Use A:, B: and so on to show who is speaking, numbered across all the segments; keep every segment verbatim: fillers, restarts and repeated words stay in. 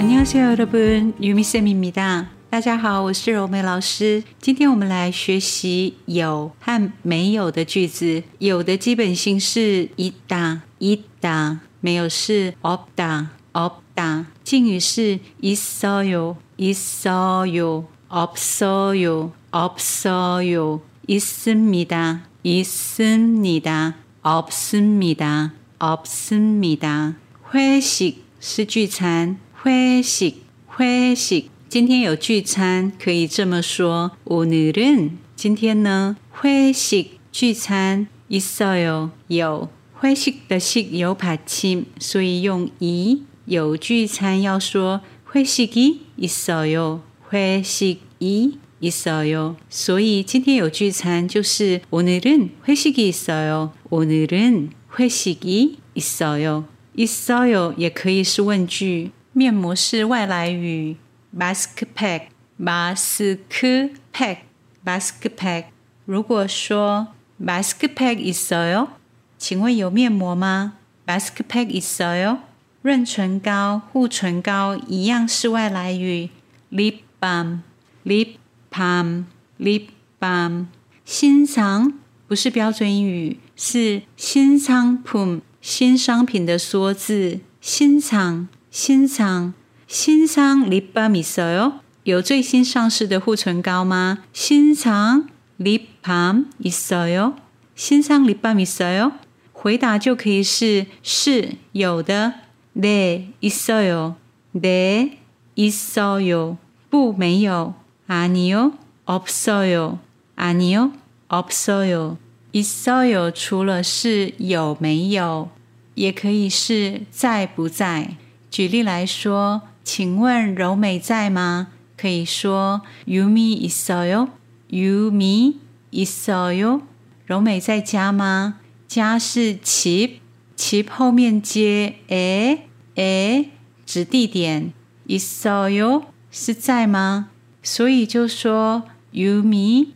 A: 안녕하세요 여러분, 유미쌤입니다。大家好，我是柔美老师。今天我们来学习有和没有的句子。有的基本形是있다 있다，没有是없다 없다。敬语是있어요 있어요 없어요 없어요 있습니다 있습니다 없습니다 없습니다。회식是聚餐，회식 회식。今天有聚餐，可以这么说。오늘은今天呢，회식聚餐있어요有。회식的식有받침，所以用이。有聚餐要说회식이 있어요 회식이 있어요。所以今天有聚餐就是 오늘은 회식이 있어요 오늘은 회식이 있어요。있어요也可以是问句。面膜是外来语。마스크팩 마스크팩 마스크팩。如果说 마스크팩 있어요， 请问有面膜吗？ 마스크팩 있어요。 润唇膏护唇膏一样是外来语。립밤 립밤 립밤。 新상不是标准语，是신상품新商品的缩字。신상 신상 신상 립밤 있어요？ 有最新上市的护唇膏吗？ 신상 립밤 있어요？ 신상 립밤 있어요？ 回答就可以是是有的。네 있어요 네 있어요。 不没有。아니요 없어요 아니요 없어요。 있어요除了是有没有，也可以是在不在。举例来说，请问柔美在吗？可以说 유미 있어요 유미 있어요。 柔美在家吗？家是집 집后面接 에 에指地点。있어요是在吗？所以就说 유미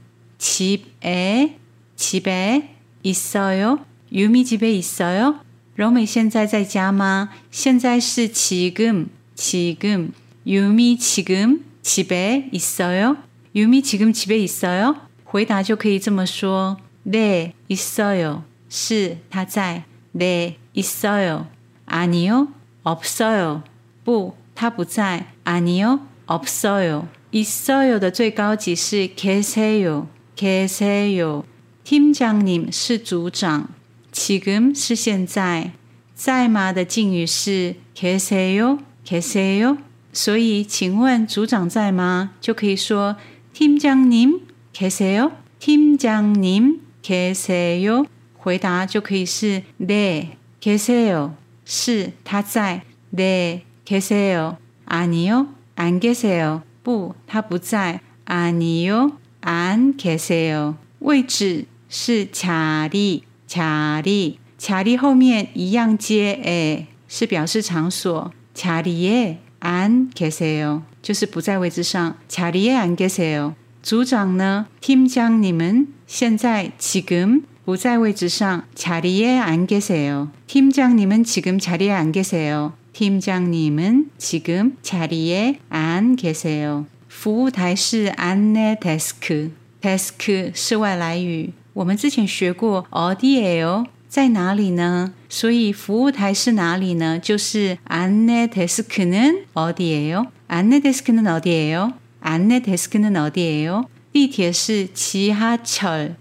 A: 집에 집에 있어요 유미 집에 있어요。 柔美现在在家吗？现在是지금 지금 유미 지금 집에 있어요 유미 지금 집에 있어요。 回答就可以这么说。네 있어요是他在。네 있어요 아니요 없어요不他不在。아니요 없어요。 있어요的最高级是계세요 계세요。 팀장님是组长。지금是现在。在吗的敬语是 계세요 계세요。 所以请问组长在吗？就可以说 팀장님 계세요 팀장님 계세요。 回答就可以是 네 계세요是他在。네 계세요 아니요 안 계세요不他不在。아니요 안 계세요。 位置是자리 자리 자리后面一样接 에， 是表示场所。자리에 안 계세요就是不在位置上。자리에 안 계세요。 组长呢？ 팀장님은现在 지금不在位置上。자리에 안 계세요。 팀장님은 지금 자리에 안 계세요。 팀장님은 지금 자리에 안 계세요。 服务台是 안내 데스크 데스크是外来语。我们之前学过 어디예요在哪里呢？所以服务台是哪里呢？就是 안내 데스크는 어디예요？ 안내 데스크는 어디예요？ 안내 데스크는 어디예요？ 地铁是 지하철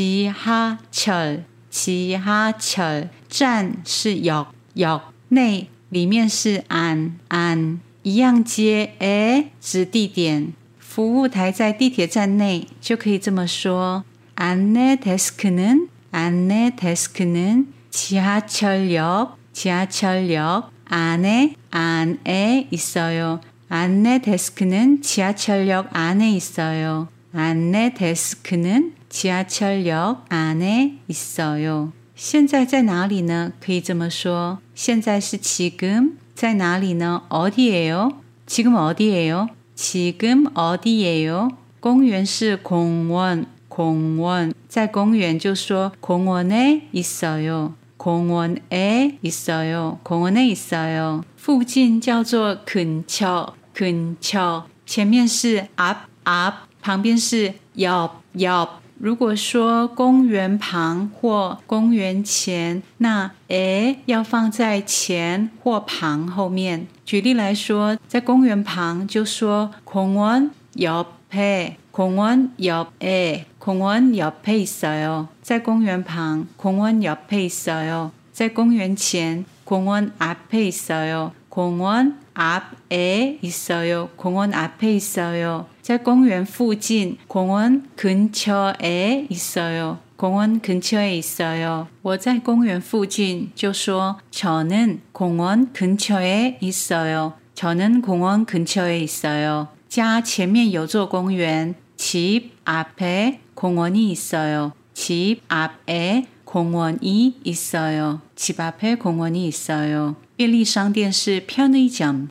A: 지하철 지하철。 站是 역 역。 内里面是 안 안， 一样接 에 指地点。服务台在地铁站内，就可以这么说。 안내 데스크는 안내 데스크는 지하철역 지하철역 안에 안에 있어요. 안내 데스크는 지하철역 안에 있어요. 안내 데스크는 지하철역 안에 있어요. 现在在哪里呢？可以这么说。现在是 지금 在哪里呢？ 어디예요? 지금 어디예요? 지금 어디예요? 公园是공원 공원，在公园就说공원에 있어요。 공원에 있어요. 공원에 있어요.附近叫做근처 근처前面是 앞 앞旁边是 옆 옆如果说公园旁或公园前，那 에 要放在前或旁后面。举例来说，在公园旁就说공원 옆에 공원 옆에 공원 옆에 있어요. 在公园旁공원 옆에 있어요. 在公园前공원 앞에 있어요. 공원 앞에 있어요. 공원 앞에 있어요. 在公园附近 공원 근처에 있어요. 공원 근처에 있어요. 我在公园附近就说 저는 공원 근처에 있어요. 저는 공원 근처에 있어요. 家前面有座公园 집 앞에 공원이 있어요. 집 앞에 공원이 있어요. 집 앞에 공원이 있어요. 便利商店是 편의점,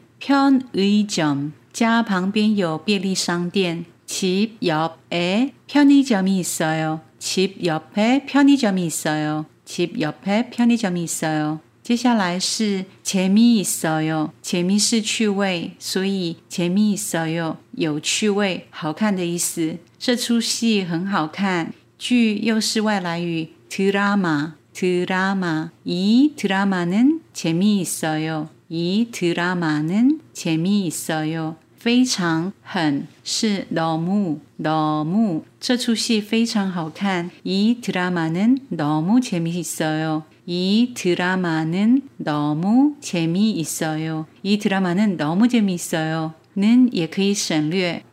A: 편의점. 家旁边有便利商店 집 옆에 편의점이 있어요. 집 옆에 편의점이 있어요. 집 옆에 편의점이 있어요. 接下来是 재미있어요. 재미是趣味，所以 재미있어요 有趣味，好看的意思。这出戏很好看，剧又是外来语 드라마, 드라마. 이 드라마는 재미있어요. 이 드라마는 재미있어요. 非常很是 너무, 너무. 这出戏非常好看。이 드라마는 너무 재미있어요. 이 드라마는 너무 재미있어요. 이 드라마는 너무 재미있어요. 는也可以省略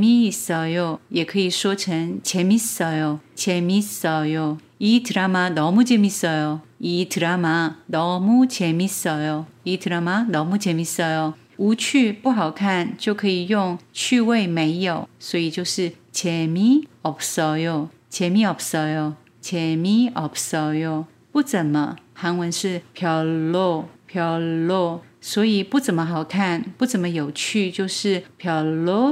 A: 재미있어요 也可以说成 재밌어요. 재밌어요. 이 드라마 너무 재밌어요. 이 드라마 너무 재밌어요. 이 드라마 너무 재밌어요. 无趣不好看就可以用趣味没有，所以就是 재미없어요. 재미없어요. 재미없어요. 不怎么，韩文是 별로, 별로. 所以不怎么好看，不怎么有趣，就是 별로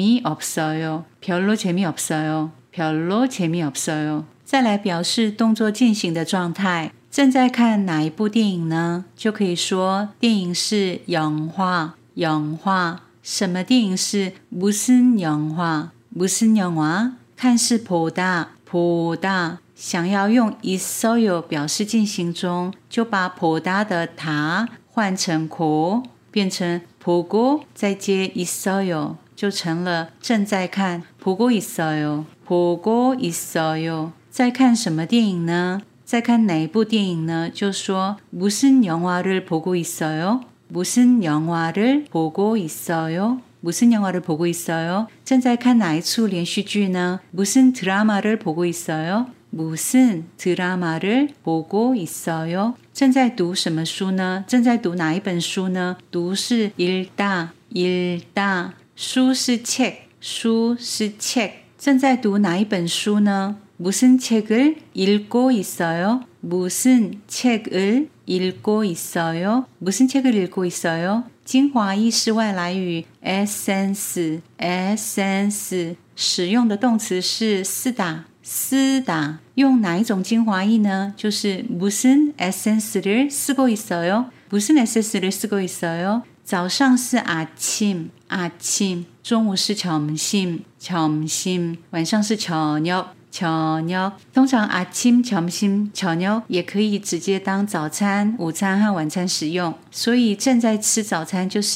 A: 재미없어요. 별로 재미없어요. 별로 재미없어요. 再来表示动作进行的状态。正在看哪一部电影呢？就可以说电影是영화, 영화。什么电影是무슨 영화, 무슨 영화？看是보다, 보다。想要用있어요表示进行中，就把보다的다换成고，变成보고再接있어요，就成了正在看보고 있어요, 보고 있어요。在看什么电影呢？在看哪一部电影呢？就说무슨 영화를 보고 있어요? 무슨 영화를 보고 있어요? 무슨 영화를 보고 있어요? 正在看哪一出连续剧呢？ 무슨 드라마를 보고 있어요? 무슨 드라마를 보고 있어요? 正在读什么书呢？正在读哪一本书呢？读是읽다, 읽다。书是책,书是책。正在读哪一本书呢？ 무슨 책을 읽고 있어요? 무슨 책을 읽고 있어요? 무슨 책을 읽고 있어요? 精华液是外来语 essence, essence。使用的动词是쓰다, 쓰다。用哪一种精华液呢？就是 무슨 essence를 쓰고 있어요? 무슨 essence를 쓰고 있어요? 早上是아침, 아침。中午是점심, 점심。晚上是저녁, 저녁。通常 아침, 점심, 저녁也可以直接当早餐、午餐和晚餐使用。所以正在吃早餐就是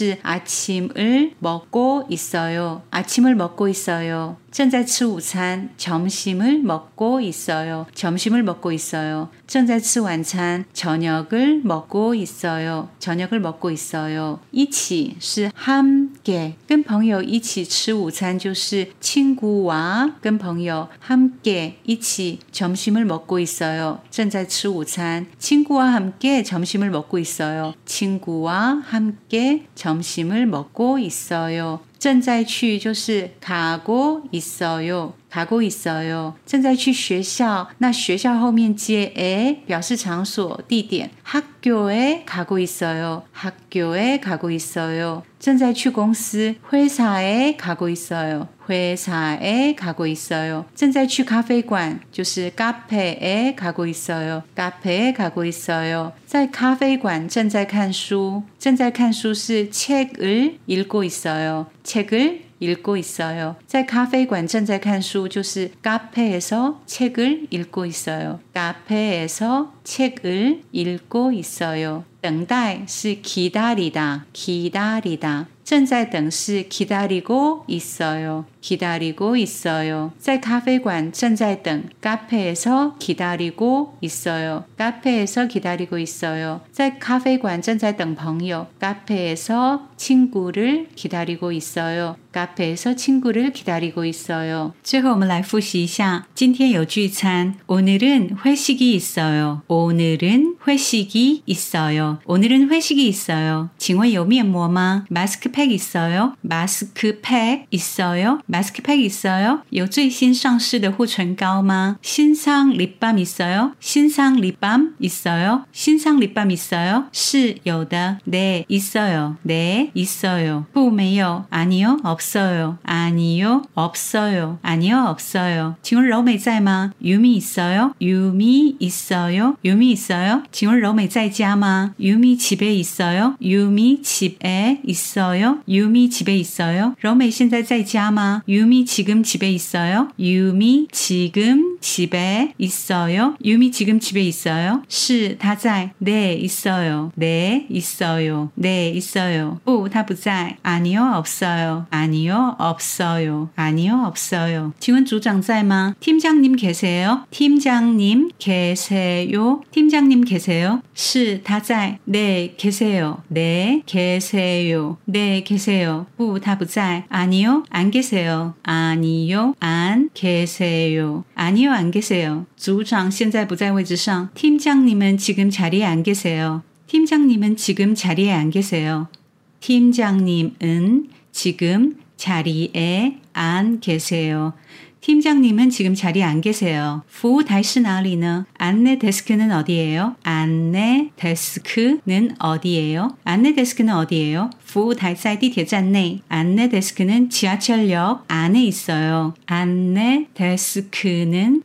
A: 아침을 먹고 있어요, 아침을 먹고 있어요。正在吃午餐 점심을 먹고 있어요, 점심을 먹고 있어요。正在吃晚餐 저녁을 먹고 있어요, 저녁을 먹고 있어요。一起是 함께， 跟朋友一起吃午餐就是 친구와， 跟朋友 함께 一起 점심을 먹고 있어요， 正在吃午餐 친구와 함께 점심을 먹고 있어요, 친구와 함께 점심을 먹고 있어요。正在去就是 가고 있어요, 가고 있어요.正在去学校，那学校后面接에表示场所地点。학교에 가고 있어요. 학교에 가고 있어요. 正在去公司 회사에 가고 있어요. 회사에 가고 있어요. 正在去咖啡馆就是 카페에 가고 있어요. 카페에 가고 있어요. 在咖啡馆正在看书正在看书是 책을 읽고 있어요. 책을 읽고 있어요. 在咖啡馆正在看书就是 카페에서 책을 읽고 있어요. 카페에서 책을 읽고 있어요. 等待是 기다리다, 기다리다. 正在等是 기다리고 있어요. 기다리고 있어요. 在咖啡馆正在等 카페에서 기다리고 있어요. 카페에서 기다리고 있어요. 在咖啡馆正在等朋友 카페에서 친구를 기다리고 있어요. 카페에서 친구를 기다리고 있어요. 最后我们来复习一下今天有聚餐 오늘은 회식이 있어요. 오늘은 회식이 있어요. 오늘은 회식이 있어요. 请问有面膜吗 마스크팩 있어요? 마스크팩 있어요? 마스크팩 있어요? 有最新上市的护唇膏吗 신상 립밤 있어요? 신상 립밤 있어요? 신상 립밤 있어요? 是有的 네 있어요. 네 있어요. 不没有 아니요 없어요. 아니요 없어요. 아니요 없어요. 请问柔美在吗 유미 있어요? 유미 있어요? 유미 있어요? 请问柔美在家吗 유미 집에 있어요? 유미 집에 있어요? 유미 집에 있어요? 柔美现在在家吗 유미 지금 집에 있어요? 유미 지금 집에 있어요? 유미 지금 집에 있어요? 是她在 네 있어요. 네 있어요. 네 있어요. 不她不在 아니요 없어요. 아니요 없어요. 아니요 없어요. 请问组长在吗 팀장님 계세요? 팀장님 계세요? 팀장님 계세요? 是她在 네 계세요. 네 계세요. 네 계세요. 不她不在 아니요 안 계세요. 아니요 안 계세요. 아니요 안 계세요. 组长现在不在位置上 팀장님은 지금 자리에 안 계세요. 팀장님은 지금 자리에 안 계세요. 팀장님은 지금 자리에 안 계세요. 팀장님은 지금 자리에 안 계세요. 服务台是哪里呢? 안내 데스크는 어디예요? 안내 데스크는 어디예요? 안내 데스크는 어디예요? 服务台在地铁站内. 안내 데스크는 지하철역 안에 있어요. 안내 데스크는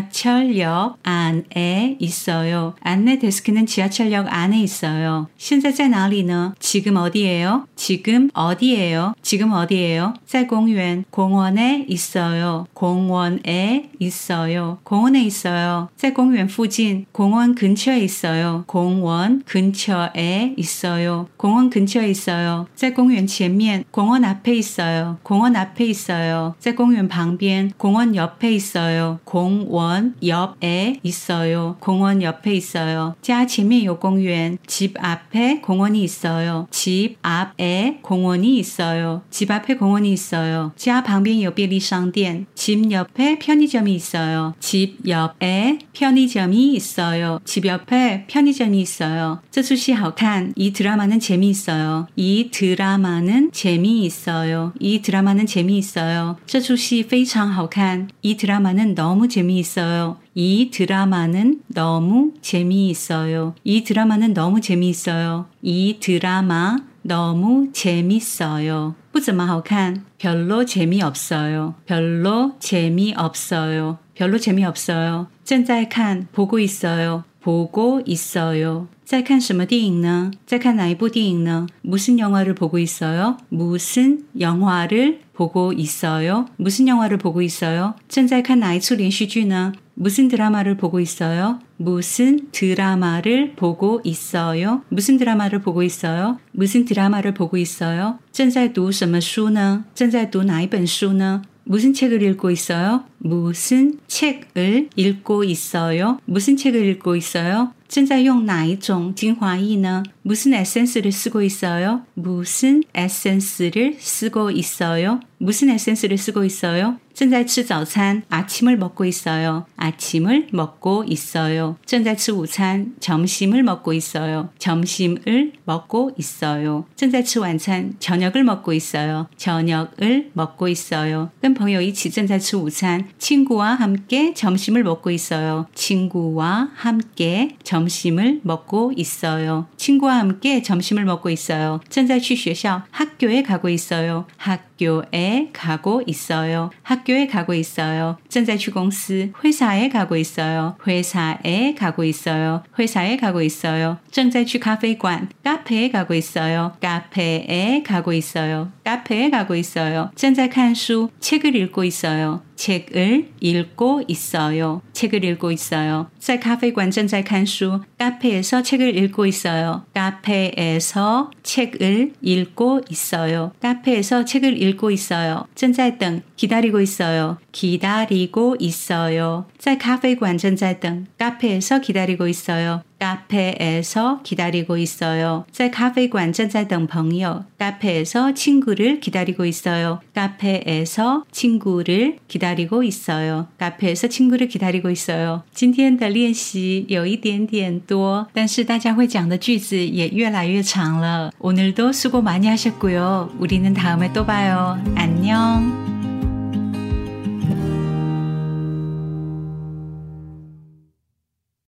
A: 지하철역 안에 있어요. 안내 데스크는 지하철역 안에 있어요. 现在在哪里呢? 지금 어디예요? 지금 어디예요? 지금 어디예요? 在公园 공원에 있어요. 공원에 있어요. 공원에 있어요. 在公园附近 공원 근처에 있어요. 공원 근처에 있어요. 공원 근처에 있어요. 在公园前面 공원 앞에 있어요. 공원 앞에 있어요. 在公园旁边 공원 옆에 있어요. 공원 옆에 있어요. 공원 옆에 있어요. 家前面有公园 집 앞에 공원이 있어요. 집 앞에 공원이 있어요. 집 앞에 공원이 있어요. 家旁边有便利商店 집 옆에 편의점이 있어요. 집 옆에 편의점이 있어요. 집 옆에 편의점이 있어요. 这出戏好看. 이 드라마는 재미있어요. 이 드라마는 재미있어요. 이 드라마는 재미있어요. 这出戏非常好看. 이 드라마는 너무 재미있어요. 이 드라마는 너무 재미있어요. 이 드라마는 너무 재미있어요. 이 드라마 너무 재밌어요. 不怎么好看. 별로 재미없어요. 별로 재미없어요. 별로 재미없어요. 正在看 보고 있어요. 보고 있어요. 在看什么电影呢? 在看哪一部电影呢? 무슨 영화를 보고 있어요? 무슨 영화를 보고 있어요? 무슨 영화를 보고 있어요? 正在看哪一出连续剧呢? 무슨 드라마를 보고 있어요? 무슨 드라마를 보고 있어요? 무슨 드라마를 보고 있어요? 무슨 드라마를 보고 있어요? 正在读什么书呢? 正在读哪一本书呢? 무슨 책을 읽고 있어요? 무슨 책을 읽고 있어요? 무슨 책을 읽고 있어요? 正在用哪一种精华液呢? 무슨 에센스를 쓰고 있어요? 무슨 에센스를 쓰고 있어요? 무슨 에센스를 쓰고 있어요? 正在吃早餐 아침을 먹고 있어요. 아침을 먹고 있어요. 正在吃午餐 점심을 먹고 있어요. 점심을 먹고 있어요. 正在吃晚餐 저녁을 먹고 있어요. 저녁을 먹고 있어요. 跟朋友一起正在吃午餐 친구와 함께 점심을 먹고 있어요. 친구와 함께 점심을 먹고 있어요. 친구와 함께 점심을 먹고 있어요. 正在去学校 학교에 가고 있어요. 학교에 가고 있어요. 학교에 가고 있어요. 正在去公司 회사에 가고 있어요. 회사에 가고 있어요. 회사에 가고 있어요. 正在去咖啡馆 카페에 가고 있어요. 카페에 가고 있어요. 카페에 가고 있어요. 正在看书 책을 읽고 있어요. 책을 읽고 있어요. 책을 읽고 있어요. 在咖啡馆正在看书 카페에서 책을 읽고 있어요. 카페에서 책을 읽고 있어요. 카페에서 책을 읽고 있어요. 正在等 기다리고 있어요. 기다리고 있어요. 在咖啡馆正在等 카페에서 기다리고 있어요. 카페에서 기다리고 있어요. 在咖啡馆正在等朋友 카페에서 친구를 기다리고 있어요. 카페에서 친구를 기다리고 있어요. 카페에서 친구를 기다리고 있어요. 今天的练习有一点点多，但是大家会讲的句子也越来越长了。오늘도 수고 많이 하셨고요. 우리는 다음에 또 봐요. 안녕.